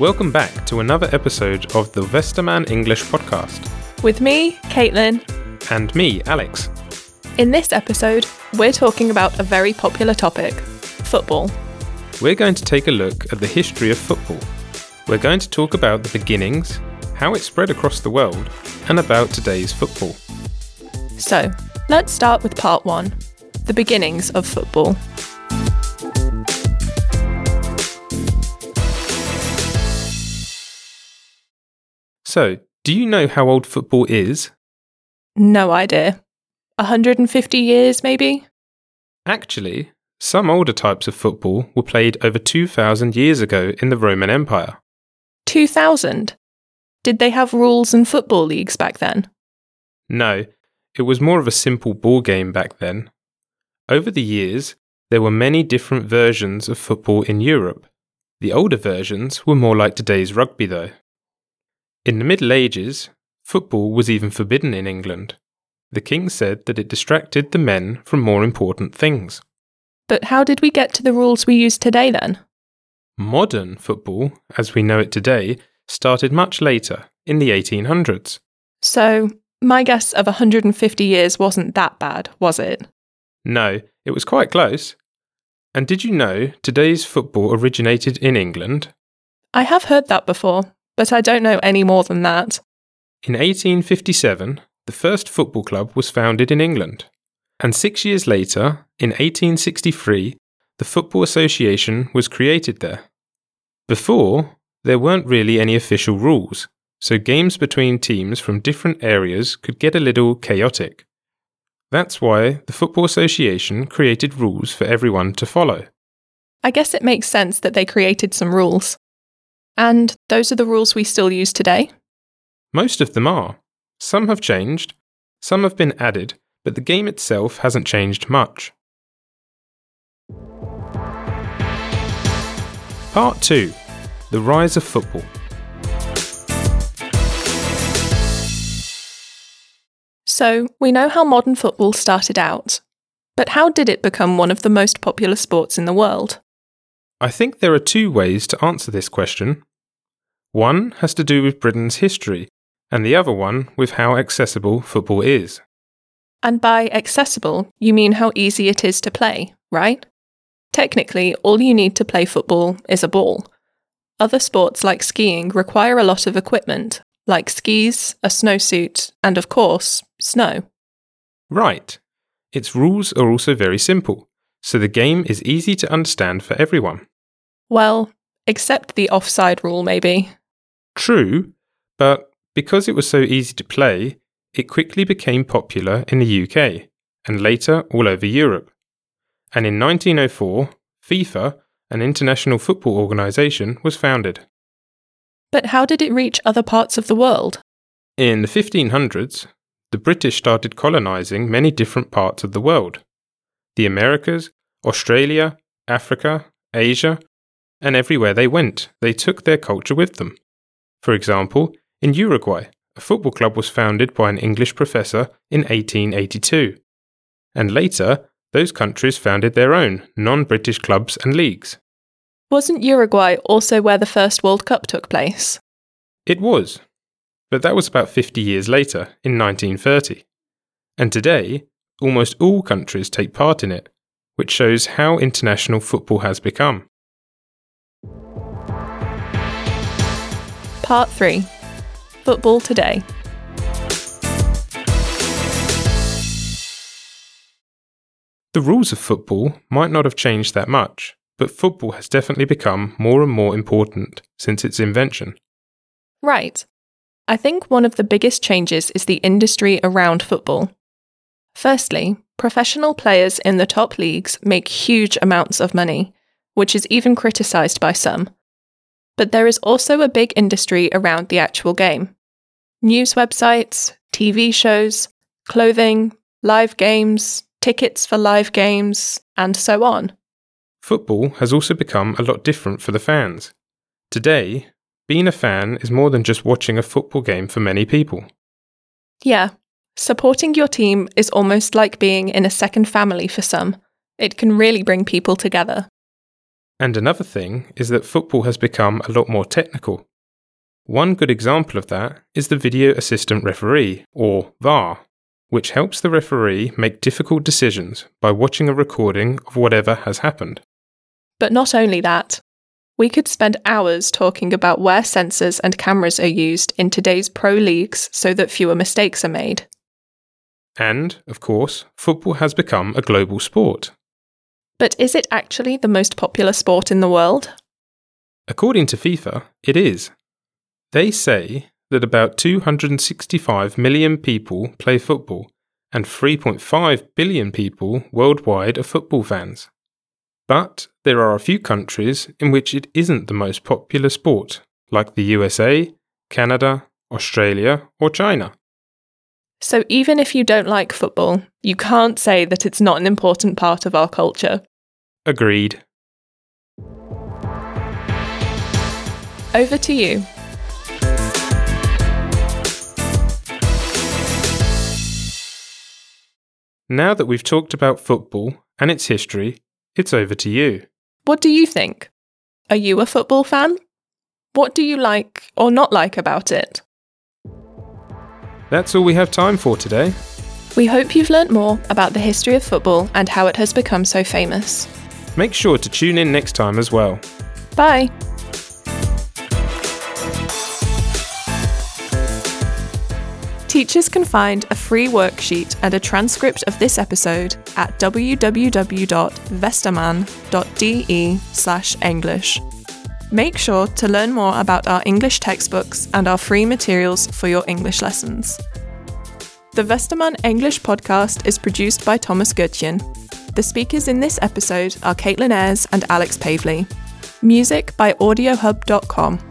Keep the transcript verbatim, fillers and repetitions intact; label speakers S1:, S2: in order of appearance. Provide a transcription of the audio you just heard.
S1: Welcome back to another episode of the Westerman English podcast.
S2: With me, Caitlin.
S1: And me, Alex.
S2: In this episode, we're talking about a very popular topic, football.
S1: We're going to take a look at the history of football. We're going to talk about the beginnings, how it spread across the world, and about today's football.
S2: So, let's start with part one, the beginnings of football.
S1: So, do you know how old football is?
S2: No idea. one hundred fifty years, maybe?
S1: Actually, some older types of football were played over two thousand years ago in the Roman Empire.
S2: two thousand? Did they have rules and football leagues back then?
S1: No, it was more of a simple ball game back then. Over the years, there were many different versions of football in Europe. The older versions were more like today's rugby though. In the Middle Ages, football was even forbidden in England. The king said that it distracted the men from more important things.
S2: But how did we get to the rules we use today then?
S1: Modern football, as we know it today, started much later, in the eighteen hundreds.
S2: So, my guess of one hundred fifty years wasn't that bad, was it?
S1: No, it was quite close. And did you know today's football originated in England?
S2: I have heard that before, but I don't know any more than that.
S1: In eighteen fifty-seven, the first football club was founded in England. And six years later, in eighteen sixty-three, the Football Association was created there. Before, there weren't really any official rules, so games between teams from different areas could get a little chaotic. That's why the Football Association created rules for everyone to follow.
S2: I guess it makes sense that they created some rules. And those are the rules we still use today?
S1: Most of them are. Some have changed, some have been added, but the game itself hasn't changed much. Part two. The Rise of Football.
S2: So, we know how modern football started out. But how did it become one of the most popular sports in the world?
S1: I think there are two ways to answer this question. One has to do with Britain's history, and the other one with how accessible football is.
S2: And by accessible, you mean how easy it is to play, right? Technically, all you need to play football is a ball. Other sports like skiing require a lot of equipment, like skis, a snowsuit, and of course, snow.
S1: Right. Its rules are also very simple, so the game is easy to understand for everyone.
S2: Well, except the offside rule, maybe.
S1: True, but because it was so easy to play, it quickly became popular in the U K, and later all over Europe. And in nineteen oh four, FIFA, an international football organisation, was founded.
S2: But how did it reach other parts of the world?
S1: In the fifteen hundreds, the British started colonising many different parts of the world. The Americas, Australia, Africa, Asia, and everywhere they went, they took their culture with them. For example, in Uruguay, a football club was founded by an English professor in eighteen eighty-two. And later, those countries founded their own non-British clubs and leagues.
S2: Wasn't Uruguay also where the first World Cup took place?
S1: It was, but that was about fifty years later, in nineteen thirty. And today, almost all countries take part in it, which shows how international football has become.
S2: Part three. Football today.
S1: The rules of football might not have changed that much, but football has definitely become more and more important since its invention.
S2: Right. I think one of the biggest changes is the industry around football. Firstly, professional players in the top leagues make huge amounts of money, which is even criticised by some. But there is also a big industry around the actual game. News websites, T V shows, clothing, live games, tickets for live games, and so on.
S1: Football has also become a lot different for the fans. Today, being a fan is more than just watching a football game for many people.
S2: Yeah, supporting your team is almost like being in a second family for some. It can really bring people together.
S1: And another thing is that football has become a lot more technical. One good example of that is the Video Assistant Referee, or V A R, which helps the referee make difficult decisions by watching a recording of whatever has happened.
S2: But not only that. We could spend hours talking about where sensors and cameras are used in today's pro leagues so that fewer mistakes are made.
S1: And, of course, football has become a global sport.
S2: But is it actually the most popular sport in the world?
S1: According to FIFA, it is. They say that about two hundred sixty-five million people play football, and three point five billion people worldwide are football fans. But there are a few countries in which it isn't the most popular sport, like the U S A, Canada, Australia, or China.
S2: So even if you don't like football, you can't say that it's not an important part of our culture.
S1: Agreed.
S2: Over to you.
S1: Now that we've talked about football and its history, it's over to you.
S2: What do you think? Are you a football fan? What do you like or not like about it?
S1: That's all we have time for today.
S2: We hope you've learnt more about the history of football and how it has become so famous.
S1: Make sure to tune in next time as well.
S2: Bye! Teachers can find a free worksheet and a transcript of this episode at w w w dot vesterman dot d e slash english. Make sure to learn more about our English textbooks and our free materials for your English lessons. The Westermann English podcast is produced by Thomas Goetjen. The speakers in this episode are Caitlin Ayres and Alex Pavley. Music by audio hub dot com.